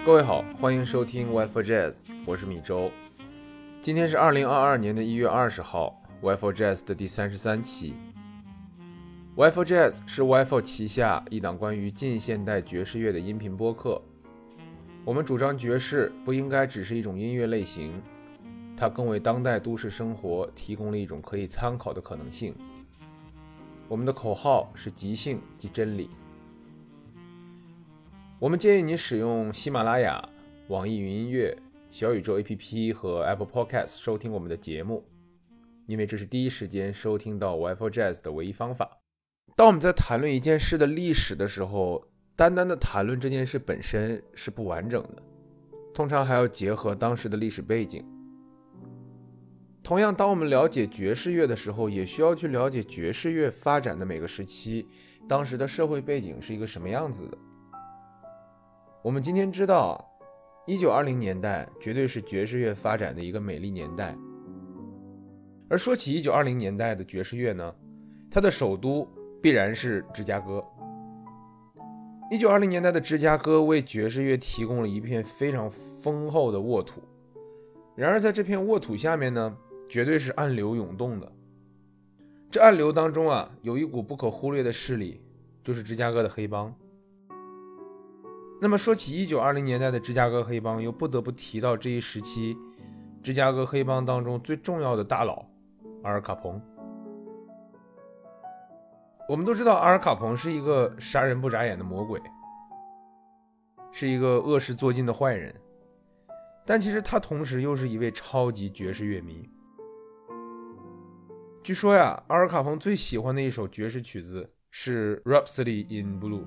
各位好，欢迎收听 Y4 Jazz， 我是米周。今天是2022年1月20号 Y4 Jazz 的第33期。Y4 Jazz 是 Y4 旗下一档关于近现代爵士乐的音频播客。我们主张爵士不应该只是一种音乐类型，它更为当代都市生活提供了一种可以参考的可能性。我们的口号是即兴即真理。我们建议你使用喜马拉雅、网易云音乐、小宇宙 APP 和 Apple Podcast 收听我们的节目，因为这是第一时间收听到 Y4 Jazz 的唯一方法。当我们在谈论一件事的历史的时候，单单的谈论这件事本身是不完整的，通常还要结合当时的历史背景。同样，当我们了解爵士乐的时候，也需要去了解爵士乐发展的每个时期，当时的社会背景是一个什么样子的。我们今天知道，1920年代绝对是爵士乐发展的一个美丽年代。而说起1920年代的爵士乐呢，它的首都必然是芝加哥。1920年代的芝加哥为爵士乐提供了一片非常丰厚的沃土。然而在这片沃土下面呢，绝对是暗流涌动的。这暗流当中啊，有一股不可忽略的势力，就是芝加哥的黑帮。那么说起1920年代的芝加哥黑帮，又不得不提到这一时期芝加哥黑帮当中最重要的大佬阿尔卡彭。我们都知道阿尔卡彭是一个杀人不眨眼的魔鬼，是一个恶事做尽的坏人，但其实他同时又是一位超级爵士乐迷。据说呀，阿尔卡彭最喜欢的一首爵士曲子是 Rhapsody in Blue。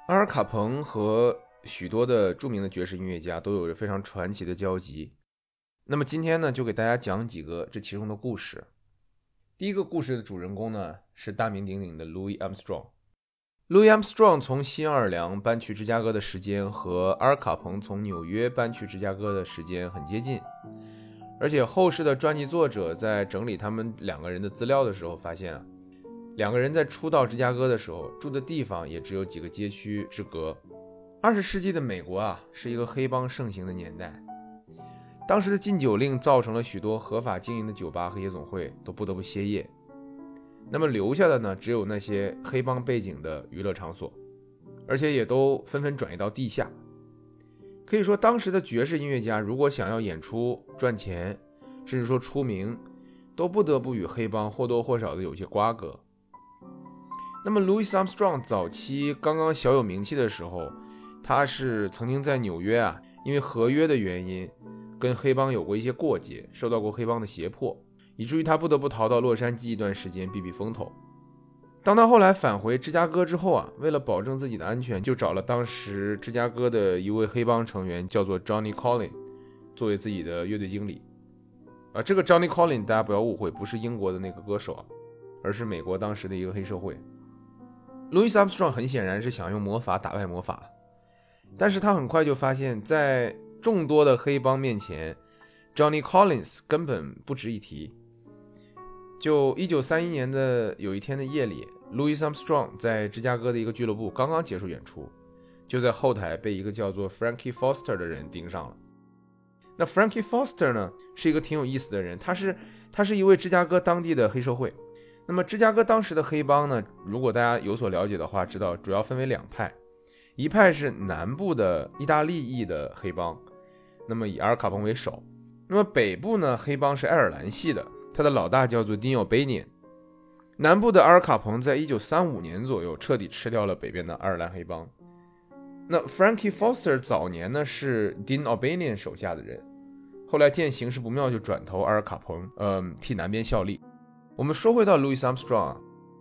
阿尔卡彭和许多的著名的爵士音乐家都有着非常传奇的交集。那么今天呢，就给大家讲几个这其中的故事。第一个故事的主人公呢，是大名鼎鼎的 Louis Armstrong。Louis Armstrong 从新奥尔良搬去芝加哥的时间和阿尔卡彭从纽约搬去芝加哥的时间很接近，而且后世的传记作者在整理他们两个人的资料的时候发现两个人在初到芝加哥的时候住的地方也只有几个街区之隔。20世纪的美国是一个黑帮盛行的年代，当时的禁酒令造成了许多合法经营的酒吧和夜总会都不得不歇业，那么留下的呢，只有那些黑帮背景的娱乐场所，而且也都纷纷转移到地下。可以说当时的爵士音乐家如果想要演出赚钱，甚至说出名，都不得不与黑帮或多或少的有些瓜葛。那么 Louis Armstrong 早期刚刚小有名气的时候，他是曾经在纽约因为合约的原因跟黑帮有过一些过节，受到过黑帮的胁迫，以至于他不得不逃到洛杉矶一段时间避避风头。当他后来返回芝加哥之后为了保证自己的安全，就找了当时芝加哥的一位黑帮成员，叫做 Johnny Collin 作为自己的乐队经理。这个 Johnny Collin 大家不要误会，不是英国的那个歌手而是美国当时的一个黑社会。Louis Armstrong 很显然是想用魔法打败魔法，但是他很快就发现在众多的黑帮面前 Johnny Collins 根本不值一提。就1931年的有一天的夜里， Louis Armstrong 在芝加哥的一个俱乐部刚刚结束演出，就在后台被一个叫做 Frankie Foster 的人盯上了。那 Frankie Foster 呢，是一个挺有意思的人，他是一位芝加哥当地的黑社会。那么芝加哥当时的黑帮呢，如果大家有所了解的话，知道主要分为两派，一派是南部的意大利裔的黑帮，那么以阿尔卡彭为首。那么北部呢，黑帮是爱尔兰系的，他的老大叫做 Dean O'Banion。 南部的阿尔卡彭在1935年左右彻底吃掉了北边的爱尔兰黑帮。那 Frankie Foster 早年呢是 Dean O'Banion 手下的人，后来见形势不妙就转投阿尔卡彭，替南边效力。我们说回到 Louis Armstrong，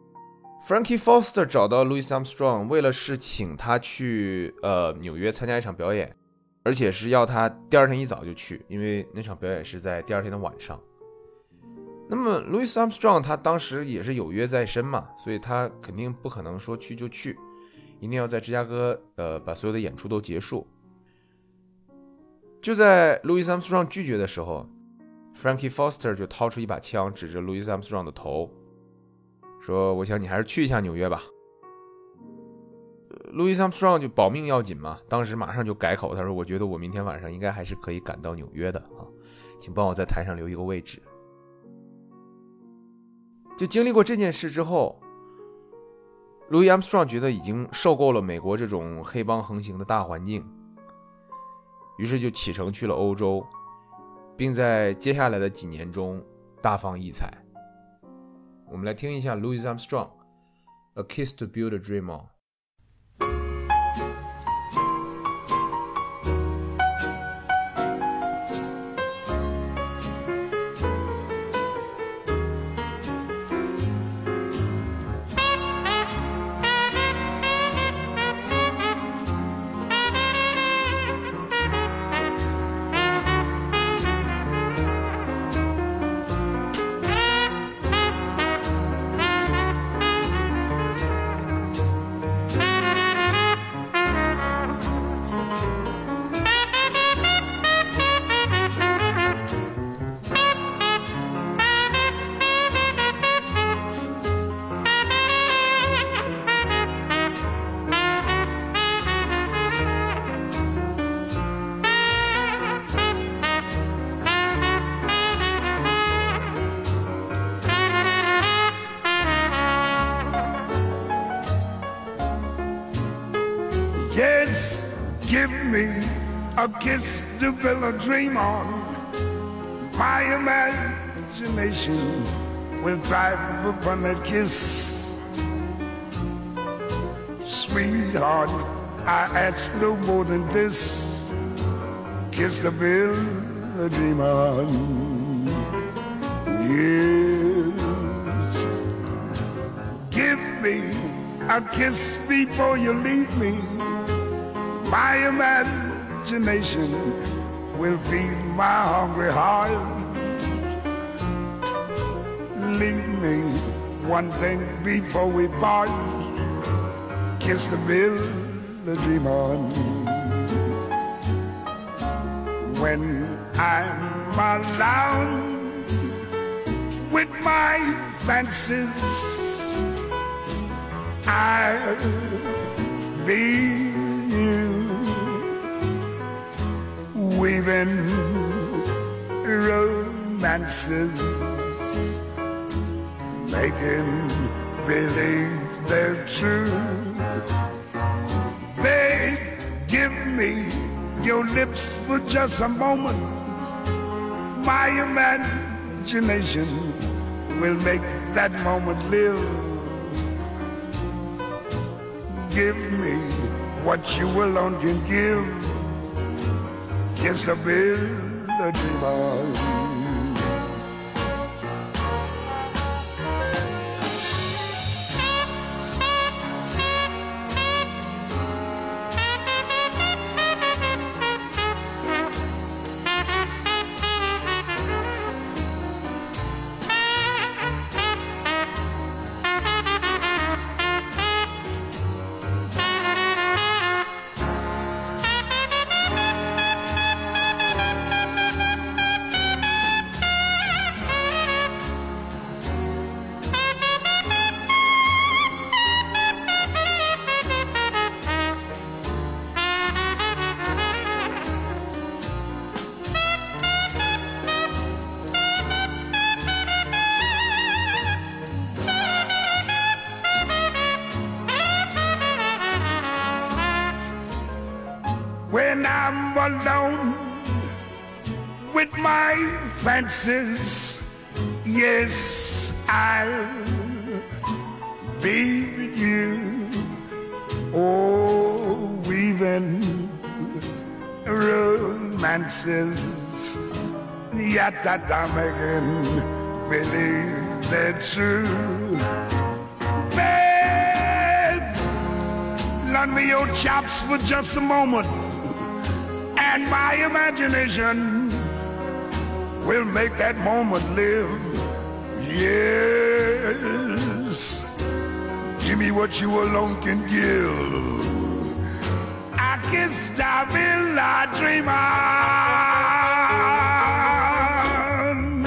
Frankie Foster 找到 Louis Armstrong， 为了是请他去纽约参加一场表演，而且是要他第二天一早就去，因为那场表演是在第二天的晚上。那么 Louis Armstrong 他当时也是有约在身嘛，所以他肯定不可能说去就去，一定要在芝加哥把所有的演出都结束。就在 Louis Armstrong 拒绝的时候， Frankie Foster 就掏出一把枪指着 Louis Armstrong 的头，说我想你还是去一下纽约吧。Louis Armstrong 就保命要紧嘛，当时马上就改口，他说我觉得我明天晚上应该还是可以赶到纽约的请帮我在台上留一个位置。就经历过这件事之后， Louis Armstrong 觉得已经受够了美国这种黑帮横行的大环境，于是就启程去了欧洲，并在接下来的几年中大放异彩。我们来听一下 Louis Armstrong A Kiss to Build a Dream on。Give me a kiss to build a dream on. My imagination will thrive upon that kiss. Sweetheart, I ask no more than this. Kiss to build a dream on. Yes. Give me a kiss before you leave me. My imagination will feed my hungry heart. Leave me one thing before we part. Kiss the bill, the dream on. When I'm alone with my fancies, I'll be you, weaving romances, making believe they're true. Babe, give me your lips for just a moment. My imagination will make that moment live. Give me what you alone can give. Kiss the bill, the dream on. When I'm alone with my fancies, yes, I'll be with you. Oh, weaving romances, yet that I'm making believe they're true. Babe, lend me your chops for just a moment, and my imagination will make that moment live. Yes, give me what you alone can give. I kiss the bill I dream on.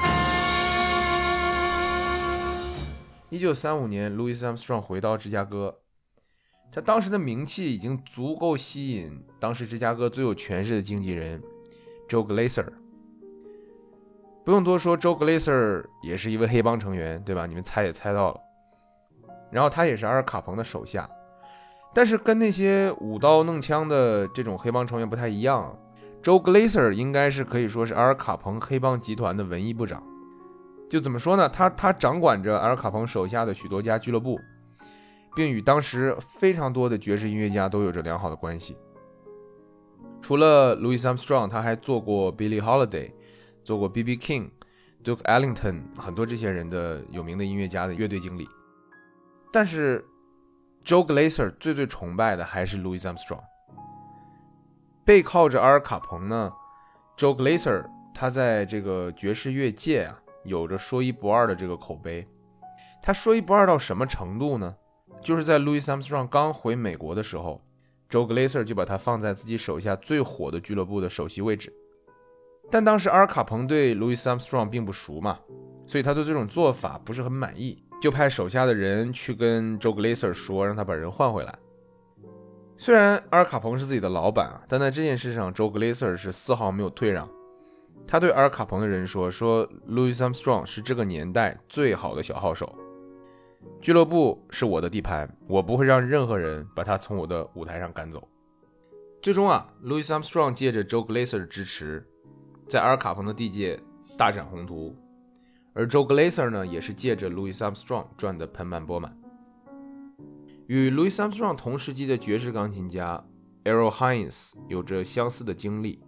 1935年 Louis Armstrong 回到芝加哥，他当时的名气已经足够吸引当时芝加哥最有权势的经纪人 Joe Glaser。 不用多说， Joe Glaser 也是一位黑帮成员，对吧？你们猜也猜到了。然后他也是阿尔卡彭的手下，但是跟那些舞刀弄枪的这种黑帮成员不太一样， Joe Glaser 应该是可以说是阿尔卡彭黑帮集团的文艺部长。就怎么说呢，他掌管着阿尔卡彭手下的许多家俱乐部，并与当时非常多的爵士音乐家都有着良好的关系。除了 Louis Armstrong， 他还做过 Billie Holiday， 做过 B.B. King、Duke Ellington 很多这些人的有名的音乐家的乐队经理。但是 Joe Glaser 最崇拜的还是 Louis Armstrong。 背靠着阿尔卡彭呢， Joe Glaser 他在这个爵士乐界啊有着说一不二的这个口碑。他说一不二到什么程度呢？就是在 Louis Armstrong 刚回美国的时候， Joe Glaser 就把他放在自己手下最火的俱乐部的首席位置。但当时阿尔卡彭对 Louis Armstrong 并不熟嘛，所以他对这种做法不是很满意，就派手下的人去跟 Joe Glaser 说，让他把人换回来。虽然阿尔卡彭是自己的老板啊，但在这件事上 Joe Glaser 是丝毫没有退让。他对阿尔卡彭的人说 Louis Armstrong 是这个年代最好的小号手，俱乐部是我的地盘，我不会让任何人把他从我的舞台上赶走。最终啊 Louis Armstrong 借着 Joe Glaser 的支持，在阿尔卡彭的地界大展宏图，而 Joe Glaser 呢也是借着 Louis Armstrong 赚得盆满钵满。与 Louis Armstrong 同时期的爵士钢琴家 Errol Hines 有着相似的经历。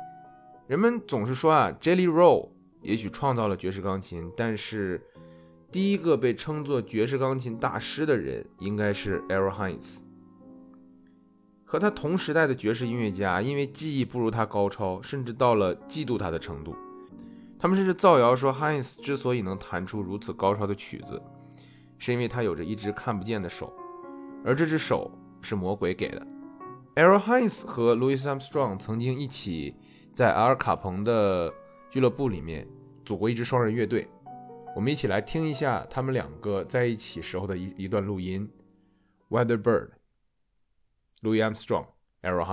人们总是说啊 Jelly Roll 也许创造了爵士钢琴，但是第一个被称作爵士钢琴大师的人应该是 Errol Hines。和他同时代的爵士音乐家因为技艺不如他高超，甚至到了嫉妒他的程度。他们甚至造谣说 Hines 之所以能弹出如此高超的曲子，是因为他有着一只看不见的手，而这只手是魔鬼给的。Errol Hines 和 Louis Armstrong 曾经一起在阿尔卡彭的俱乐部里面组过一支双人乐队。我们一起来听一下他们两个在一起时候的一段录音。 Weather Bird， Louis Armstrong， Errol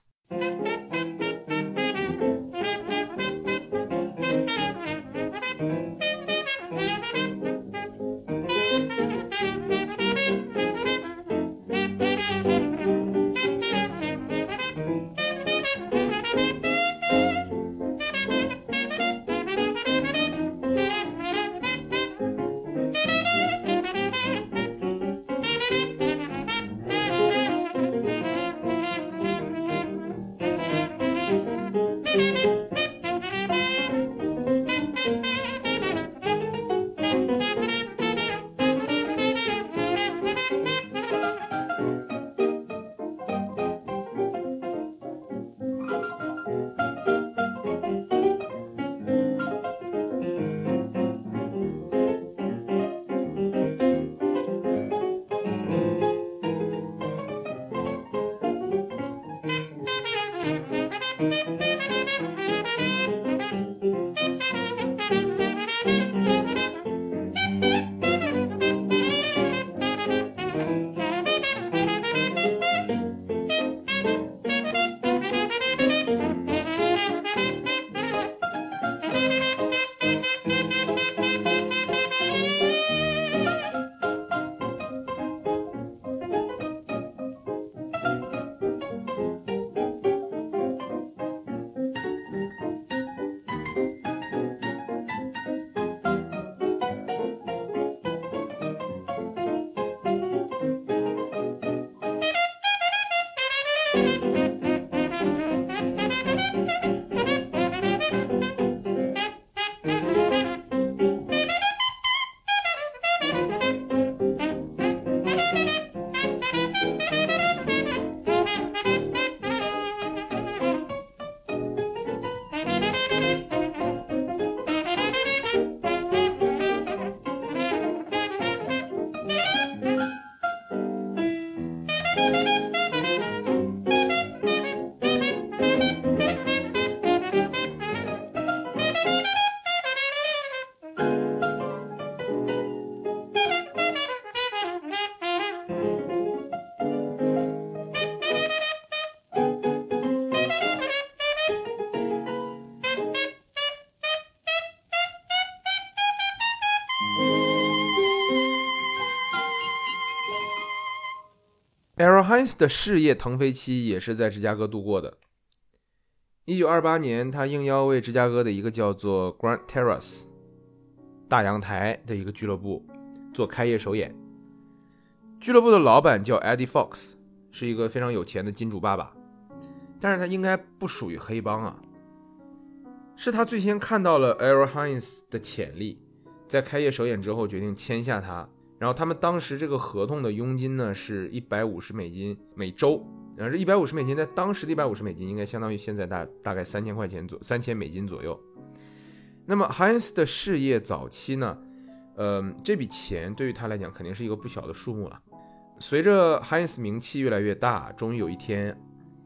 Hines。Errol Hines 的事业腾飞期也是在芝加哥度过的。1928年，他应邀为芝加哥的一个叫做 Grant Terrace 大阳台的一个俱乐部做开业首演。俱乐部的老板叫 Eddie Fox， 是一个非常有钱的金主爸爸，但是他应该不属于黑帮啊。是他最先看到了 Errol Hines 的潜力，在开业首演之后决定签下他。然后他们当时这个合同的佣金呢是$150每周，然后这$150在当时的$150应该相当于现在大概$3000左右。那么 Hines 的事业早期呢，这笔钱对于他来讲肯定是一个不小的数目了。随着 Hines 名气越来越大，终于有一天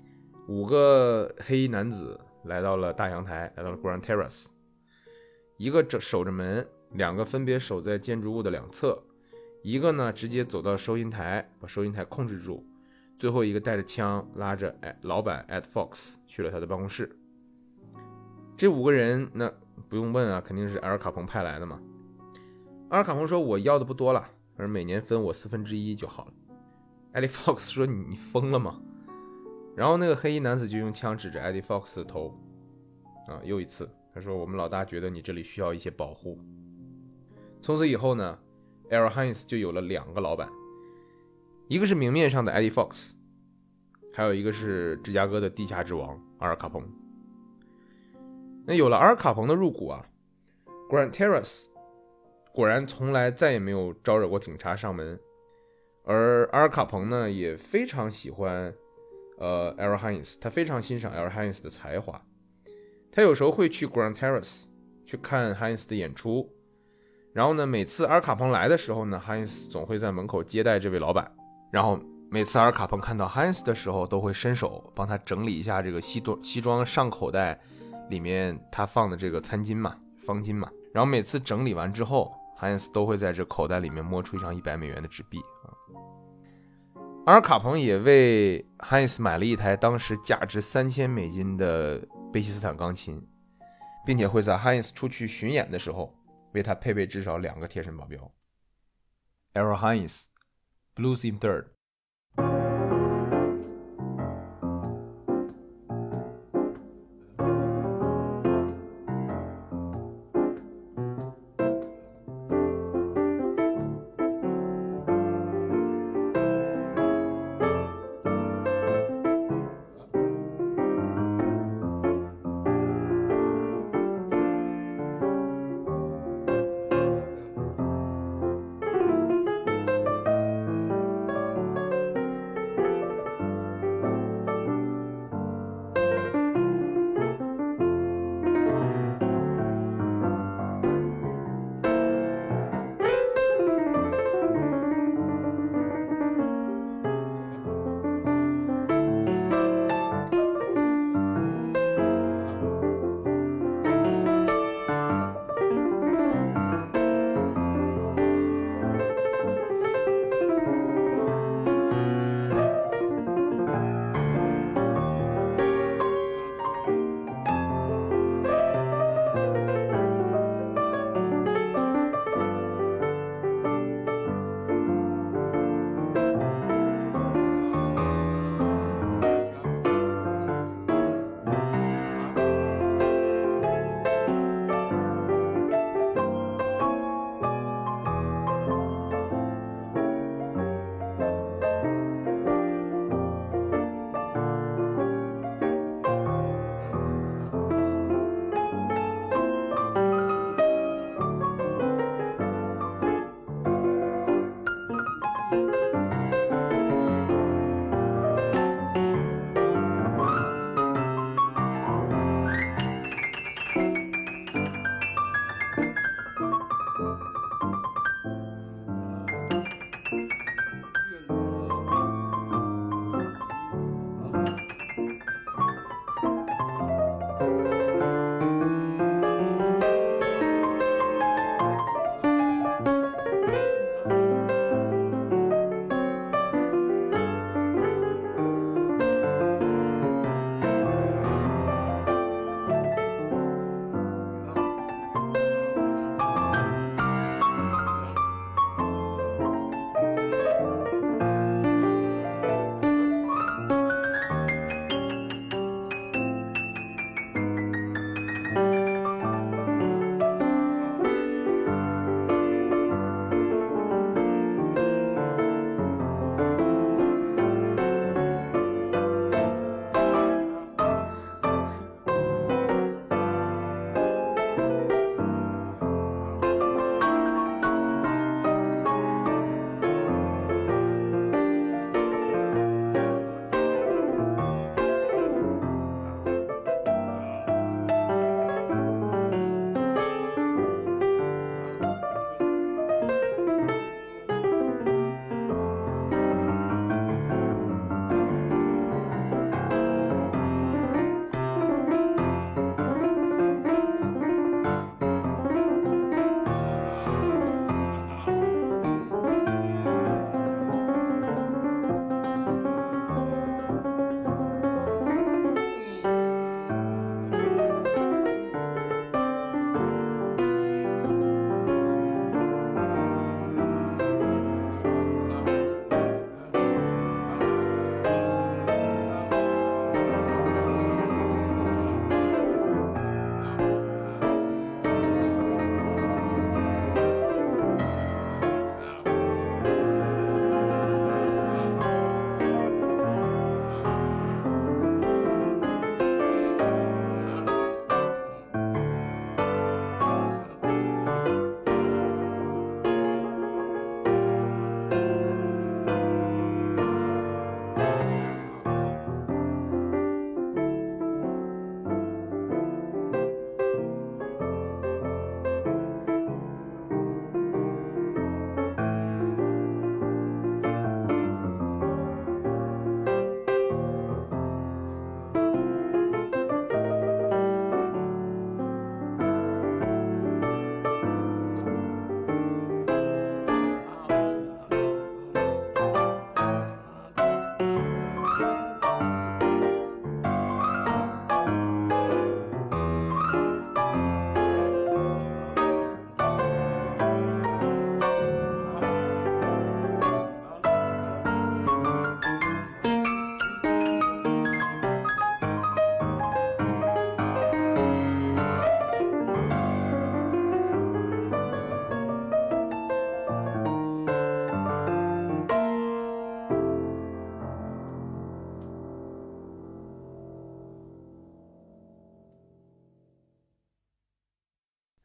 ，5个黑衣男子来到了大阳台，来到了 Grant Terrace， 一个守着门，2个分别守在建筑物的两侧，一个呢直接走到收银台，把收银台控制住，最后一个带着枪拉着老板 Ed Fox 去了他的办公室。这5个人那不用问啊，肯定是埃尔卡彭派来的嘛。埃尔卡彭说我要的不多了，而每年分我1/4就好了。Eddie Fox 说你疯了吗？然后那个黑衣男子就用枪指着 Eddie Fox 的头又一次他说我们老大觉得你这里需要一些保护。从此以后呢Errol Hines 就有了2个老板，一个是明面上的 Eddie Fox， 还有一个是芝加哥的地下之王阿尔卡彭。那有了阿尔卡彭的入股啊， Grant Terrace 果然从来再也没有招惹过警察上门。而阿尔卡彭呢也非常喜欢Errol Hines， 他非常欣赏 Errol Hines 的才华，他有时候会去 Grand Terrace 去看 Hines 的演出，然后呢每次阿尔卡彭来的时候呢 Hines 总会在门口接待这位老板，然后每次阿尔卡彭看到 Hines 的时候都会伸手帮他整理一下这个西装上口袋里面他放的这个餐巾嘛，方巾嘛，然后每次整理完之后 Hines 都会在这口袋里面摸出一张100美元的纸币阿尔卡彭也为 Hines 买了一台当时价值$3000的贝希斯坦钢琴，并且会在 Hines 出去巡演的时候为他配备至少2个贴身保镖。Errol Hines Blues in Third。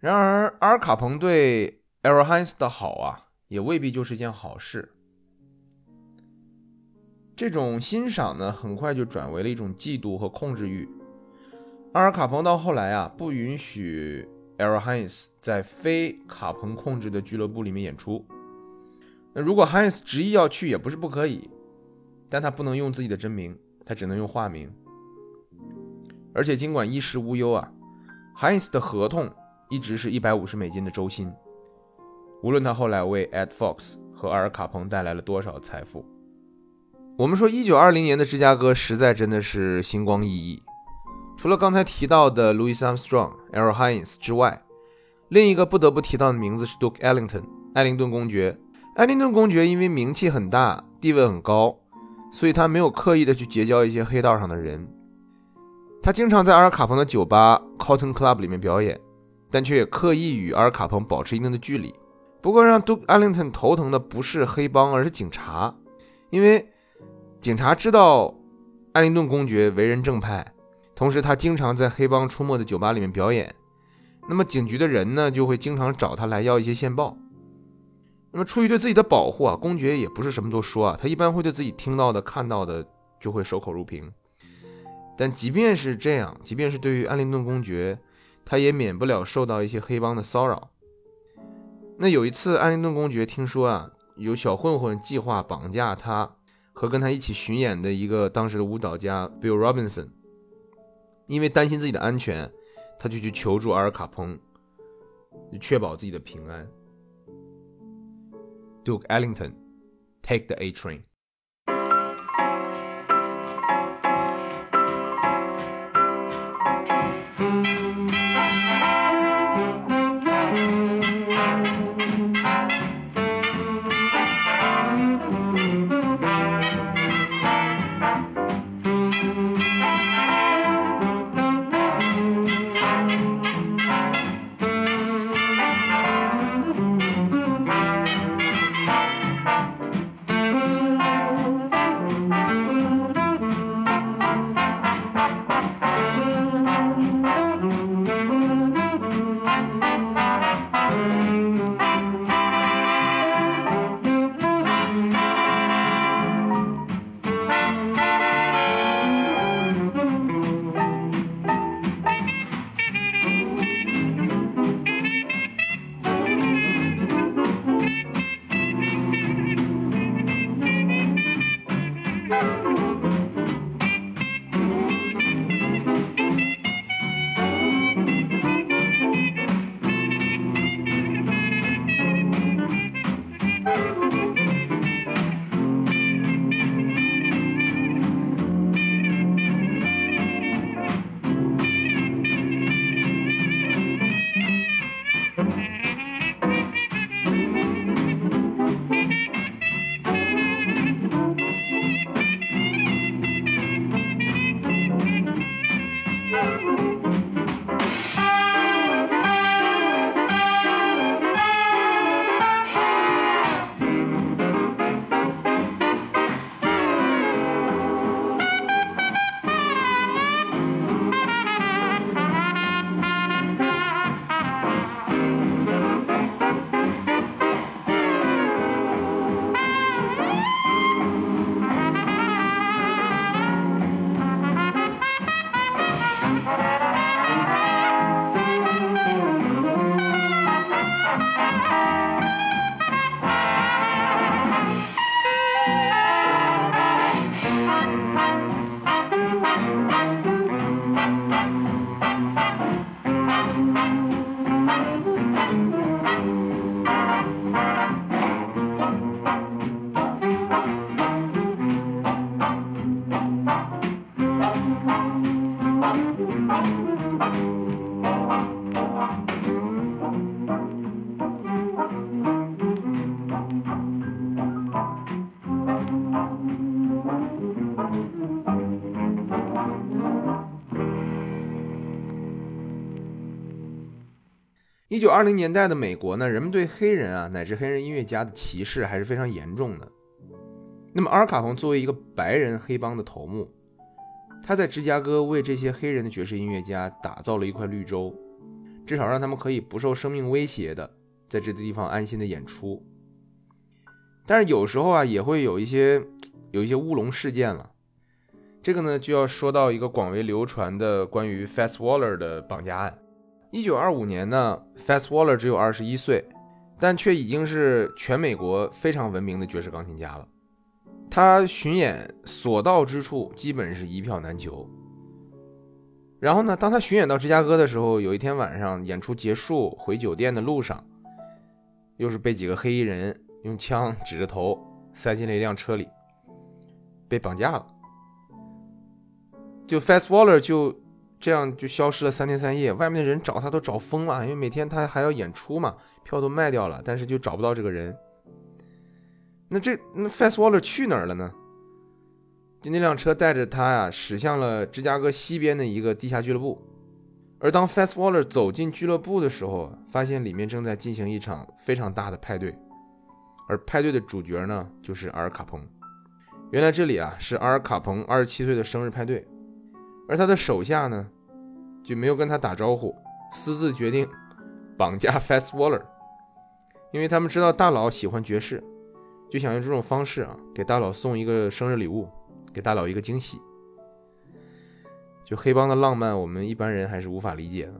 然而阿尔卡彭对 Errol Hines 的好啊，也未必就是件好事。这种欣赏呢，很快就转为了一种嫉妒和控制欲。阿尔卡彭到后来啊，不允许 Errol Hines 在非卡彭控制的俱乐部里面演出。那如果 Hines 执意要去也不是不可以，但他不能用自己的真名，他只能用化名。而且尽管衣食无忧啊， Hines 的合同一直是$150的周薪，无论他后来为 Ed Fox 和阿尔卡彭带来了多少财富。我们说1920年的芝加哥实在真的是星光熠熠，除了刚才提到的 Louis Armstrong、Errol Hines 之外，另一个不得不提到的名字是 Duke Ellington 艾灵顿公爵。艾灵顿公爵因为名气很大，地位很高，所以他没有刻意的去结交一些黑道上的人。他经常在阿尔卡彭的酒吧 Cotton Club 里面表演，但却也刻意与阿尔卡彭保持一定的距离。不过让 Duke Ellington 头疼的不是黑帮，而是警察，因为警察知道艾灵顿公爵为人正派，同时他经常在黑帮出没的酒吧里面表演，那么警局的人呢，就会经常找他来要一些线报。那么出于对自己的保护啊，公爵也不是什么都说啊，他一般会对自己听到的看到的就会守口如瓶。但即便是这样，即便是对于艾灵顿公爵，他也免不了受到一些黑帮的骚扰。那有一次艾灵顿公爵听说啊，有小混混计划绑架他和跟他一起巡演的一个当时的舞蹈家 Bill Robinson， 因为担心自己的安全，他就去求助阿尔卡彭，确保自己的平安。Duke Ellington, take the A train. 1920年代的美国呢，人们对黑人啊乃至黑人音乐家的歧视还是非常严重的。那么阿尔卡彭作为一个白人黑帮的头目，他在芝加哥为这些黑人的爵士音乐家打造了一块绿洲。 至少让他们可以不受生命威胁的在这地方安心的演出。但是有时候啊，也会有一些乌龙事件了。这个呢，就要说到一个广为流传的关于 Fats Waller 的绑架案。1925年呢 Fats Waller 只有21岁，但却已经是全美国非常闻名的爵士钢琴家了。他巡演所到之处基本是一票难求。然后呢，当他巡演到芝加哥的时候，有一天晚上演出结束回酒店的路上，又是被几个黑衣人用枪指着头塞进了一辆车里，被绑架了。就 Fats Waller 就这样就消失了3天3夜，外面的人找他都找疯了，因为每天他还要演出嘛，票都卖掉了，但是就找不到这个人。那 Fats Waller 去哪儿了呢？就那辆车带着他呀，驶向了芝加哥西边的一个地下俱乐部。而当 Fats Waller 走进俱乐部的时候，发现里面正在进行一场非常大的派对，而派对的主角呢，就是阿尔卡彭。原来这里啊是阿尔卡彭27岁的生日派对，而他的手下呢就没有跟他打招呼，私自决定绑架 Fats Waller， 因为他们知道大佬喜欢爵士，就想用这种方式啊给大佬送一个生日礼物，给大佬一个惊喜。就黑帮的浪漫，我们一般人还是无法理解的。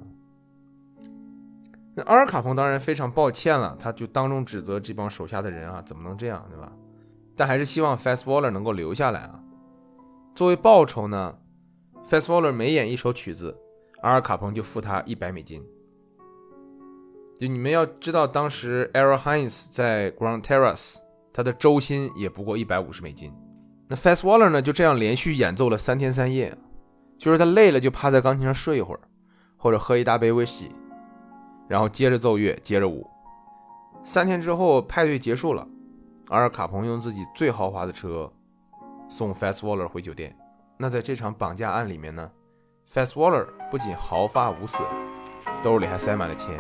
那阿尔卡彭当然非常抱歉了，他就当众指责这帮手下的人啊，怎么能这样，对吧？但还是希望 Fats Waller 能够留下来啊。作为报酬呢， Fats Waller 每演一首曲子，阿尔卡彭就付他$100。就你们要知道，当时 Errol Hines 在 Grand Terrace 他的周薪也不过$150。那 Fats Waller 呢，就这样连续演奏了3天3夜，就是他累了就趴在钢琴上睡一会儿，或者喝一大杯威士忌，然后接着奏乐，接着舞。3天之后，派对结束了，阿尔卡彭用自己最豪华的车送 Fats Waller 回酒店。那在这场绑架案里面呢， Fats Waller 不仅毫发无损，兜里还塞满了钱。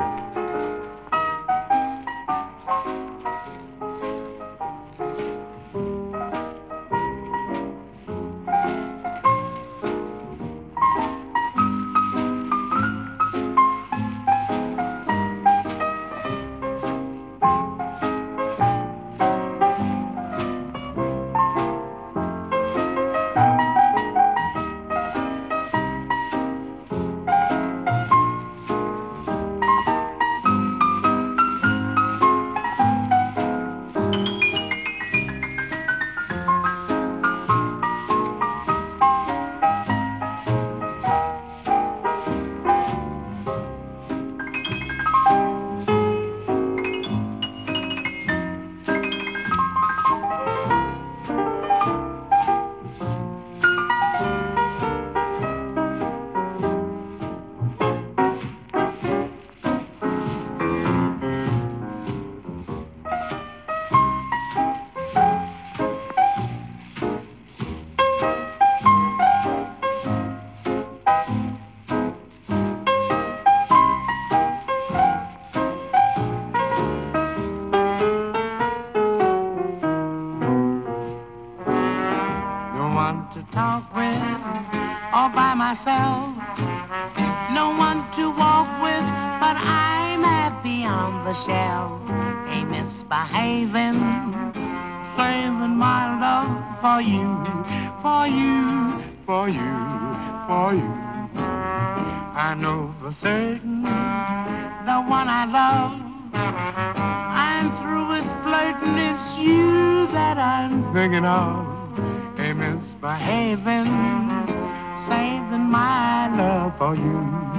No one to walk with, but I'm happy on the shelf. Ain't misbehaving, saving my love for you, for you, for you, for you. I know for certain the one I love. I'm through with flirting, it's you that I'm thinking of. Ain't misbehaving, saving my love for you.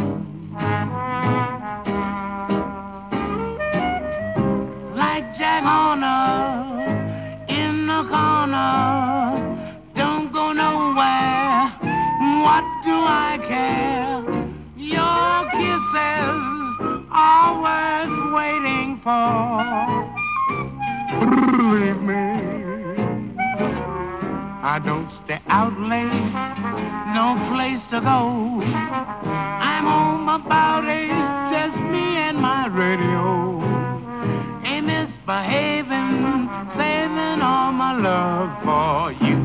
Like Jack Horner in the corner, don't go nowhere, what do I care? Your kisses are worth waiting for. Believe me, I don't stay out late, no place to go. I'm home about 8, just me and my radio. Ain't misbehaving, saving all my love for you.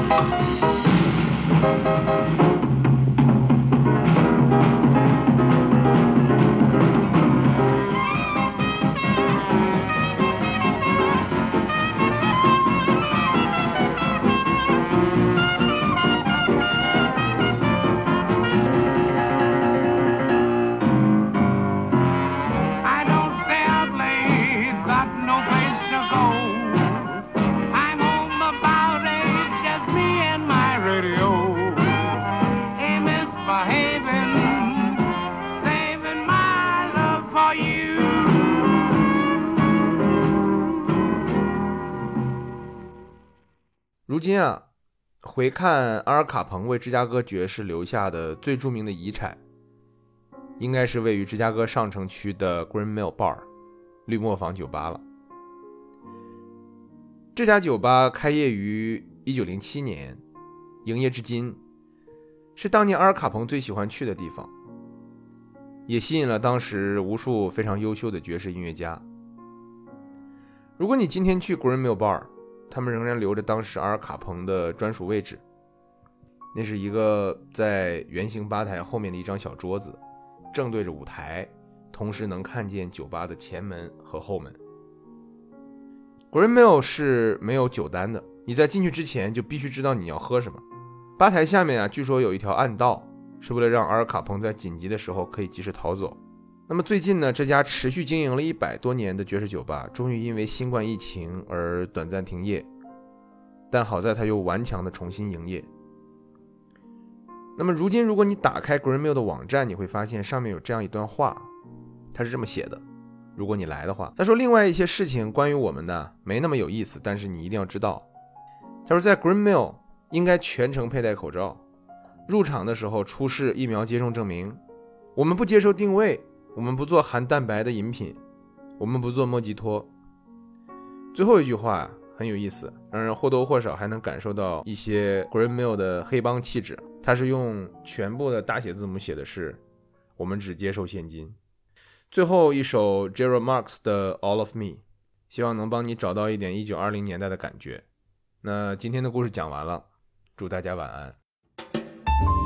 如今啊，回看阿尔卡彭为芝加哥爵士留下的最著名的遗产，应该是位于芝加哥上城区的 Green Mill Bar 绿磨坊酒吧了。这家酒吧开业于1907年，营业至今，是当年阿尔卡彭最喜欢去的地方，也吸引了当时无数非常优秀的爵士音乐家。如果你今天去 Green Mill Bar，他们仍然留着当时阿尔卡彭的专属位置，那是一个在圆形吧台后面的一张小桌子，正对着舞台，同时能看见酒吧的前门和后门。Green Mill 是没有酒单的，你在进去之前就必须知道你要喝什么。吧台下面啊，据说有一条暗道，是为了让阿尔卡彭在紧急的时候可以及时逃走。那么最近呢，这家持续经营了100多年的爵士酒吧终于因为新冠疫情而短暂停业，但好在它又顽强的重新营业。那么如今如果你打开 Green Mill 的网站，你会发现上面有这样一段话，它是这么写的，如果你来的话，他说另外一些事情关于我们呢没那么有意思，但是你一定要知道。他说在 Green Mill 应该全程佩戴口罩，入场的时候出示疫苗接种证明，我们不接受定位，我们不做含蛋白的饮品，我们不做莫吉托。最后一句话很有意思，让人或多或少还能感受到一些 Green Mill 的黑帮气质。它是用全部的大写字母写的是我们只接受现金。最后一首 Gerald Marx 的 All of Me， 希望能帮你找到一点1920年代的感觉。那今天的故事讲完了，祝大家晚安。